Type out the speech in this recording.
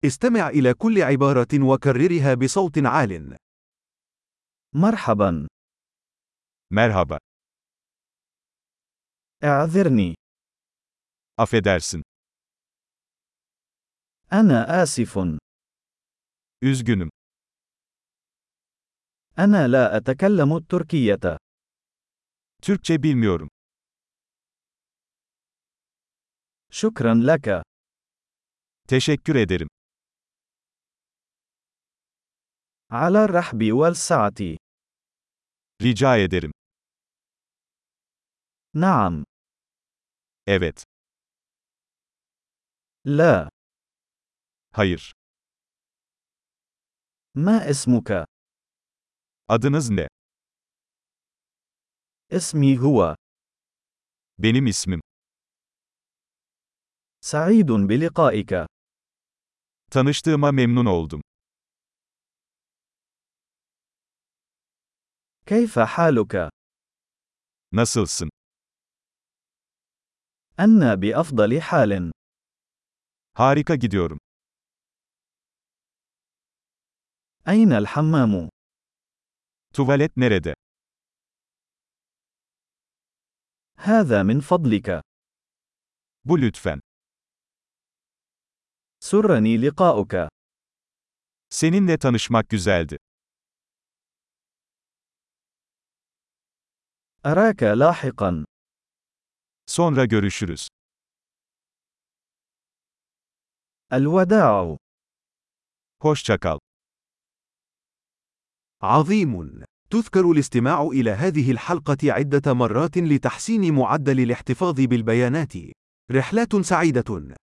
استمع إلى كل عبارة وكررها بصوت عال. مرحبا. Merhaba. اعذرني. Affedersin. أنا آسف. Üzgünüm. أنا لا أتكلم التركية. Türkçe bilmiyorum. شكرا لك. Teşekkür ederim. على الرحب والسعة. Rica ederim. نعم. Evet. لا. Hayır. ما اسمك؟ Adınız ne? اسمي هو. Benim ismim. سعيد بلقائك. Tanıştığıma memnun oldum. كيف حالك؟ Nasılsın? أنا بأفضل حال. Harika gidiyorum. أين الحمام؟ Tuvalet nerede? هذا من فضلك. Bu lütfen. سرني لقاؤك. Seninle tanışmak güzeldi. أراك لاحقا. Sonra görüşürüz. الوداع. Hoşça kal. عظيم. تذكر الاستماع إلى هذه الحلقة عدة مرات لتحسين معدل الاحتفاظ بالبيانات. رحلات سعيدة.